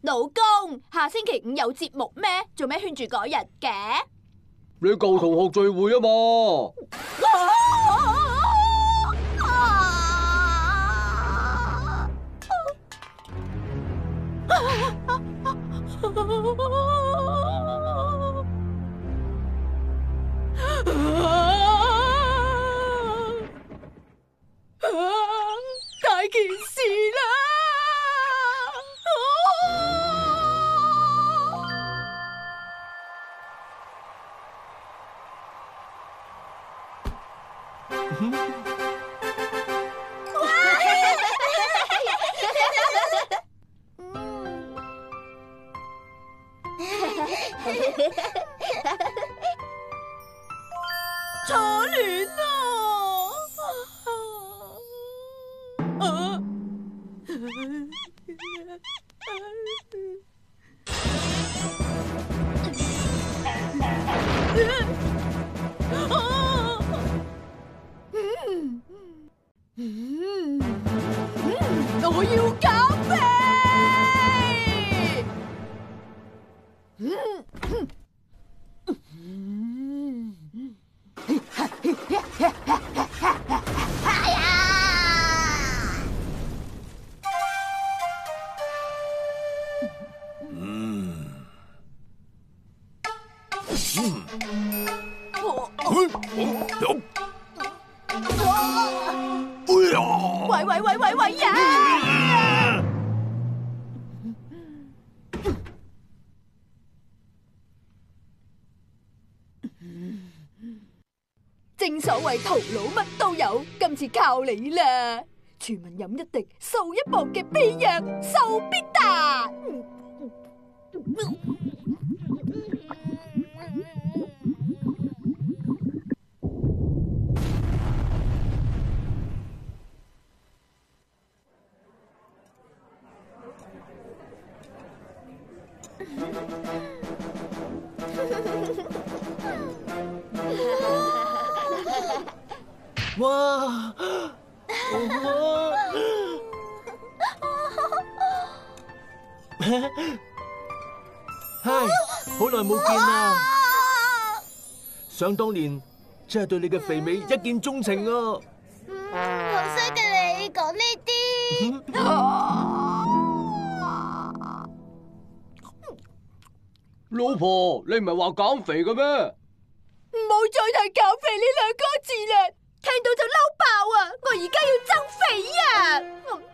老公，下星期五有節目咩？做咩圈住嗰日嘅？ 你舊同學聚會啊嘛。 大件事啦！初戀啊！我要減肥。喂呀！正所謂頭腦乜都有，今次靠你啦！全民飲一滴，瘦一磅嘅秘藥瘦必達。 哇！嗨，好耐冇見啦！想當年真係對你嘅肥美一見鍾情啊！ 好衰嘅你講呢啲。 老婆，你唔係話減肥嘅咩？ 唔好再提減肥呢兩個字啦，聽到就嬲爆啊！我而家要增肥啊！